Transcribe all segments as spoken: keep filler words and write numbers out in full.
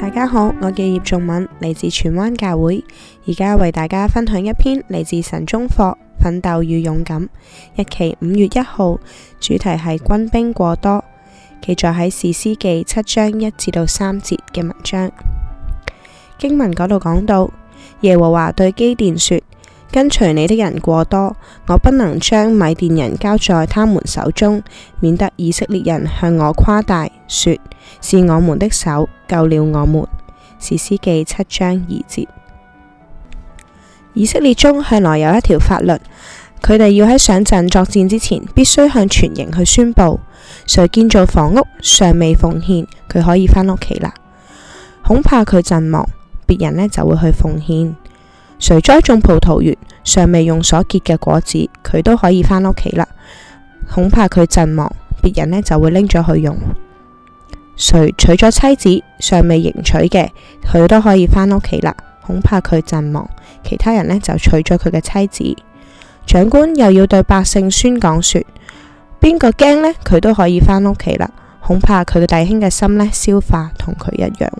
大家好，我叫葉仲敏，嚟自荃灣教會，而家為大家分享一篇嚟自神中課《奮鬥與勇敢》，日期五月一號，主題係軍兵過多，記載喺士師記七章一至到三節嘅文章。經文嗰度講到，耶和華對基甸說：跟隨你的人過多，我不能將米甸人交在他們手中，免得以色列人向我誇大，說是我們的手救了我們。士師記七章二節。以色列中向來有一條法律，佢哋要喺上陣作戰之前，必須向全營去宣布，誰建造房屋尚未奉獻，佢可以返屋企啦。恐怕佢陣亡，別人呢就會去奉獻。誰栽種葡萄園尚未用所結嘅果子，佢都可以返屋企啦。恐怕佢陣亡，別人呢就會拎咗去用。誰娶咗妻子尚未迎娶嘅，佢都可以返屋企啦。恐怕佢陣亡，其他人呢就娶咗佢嘅妻子。長官又要對百姓宣講說，邊個驚呢？佢都可以返屋企啦。恐怕佢嘅弟兄嘅心呢消化同佢一樣。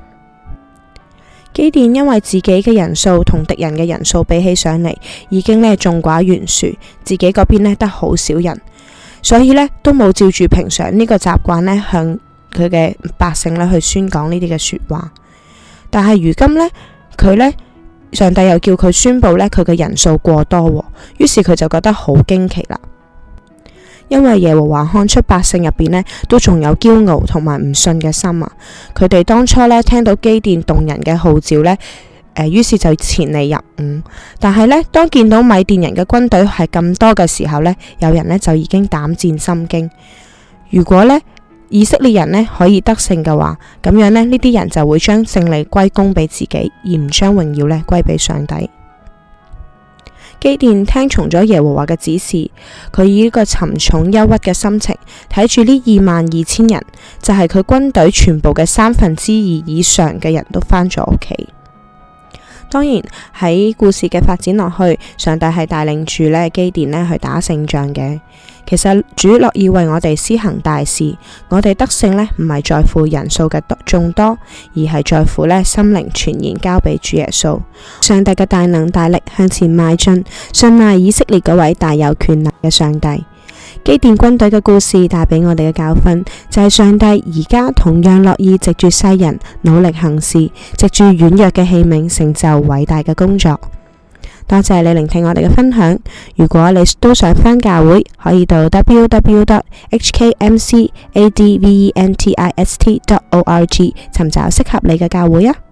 基甸因為自己嘅人數同敵人嘅人數比起上嚟，已經呢眾寡懸殊，自己嗰邊呢得好少人，所以呢都冇照住平常呢個習慣呢向佢嘅百姓呢去宣講呢啲嘅說話。但係如今呢，佢呢上帝又叫佢宣布呢佢嘅人數過多，於是佢就覺得好驚奇啦。因為耶和華看出百姓入邊呢都仲有驕傲同埋唔信嘅心啊，佢哋當初呢聽到基甸動人嘅號召呢，誒，於是就前嚟入伍。但係呢，當見到米甸人嘅軍隊係咁多嘅時候呢，有人呢就已經膽戰心驚。如果呢以色列人呢可以得勝嘅話，咁樣呢呢啲人就會將勝利歸功俾自己，而唔將榮耀呢歸俾上帝。基甸聽從咗耶和華嘅指示，佢以一個沉重憂鬱嘅心情睇住呢二萬二千人，就係佢軍隊全部嘅三分之二以上嘅人都返咗屋企。當然喺故事嘅發展落去，上帝係帶領住呢基甸呢去打勝仗嘅。其實主樂意為我哋施行大事，我哋得勝呢唔係在乎人數嘅眾多，而係在乎呢心靈全然交俾主耶穌。上帝嘅大能大力向前邁進，信賴以色列嗰位大有權能嘅上帝。基甸軍隊嘅故事帶俾我哋嘅教訓就係、是、上帝而家同樣樂意藉住世人努力行事，藉住軟弱嘅器皿成就偉大嘅工作。多謝你聆聽我哋嘅分享。如果你都想返教會，可以到 w w w dot h k m c adventist dot org 尋找適合你嘅教會啊。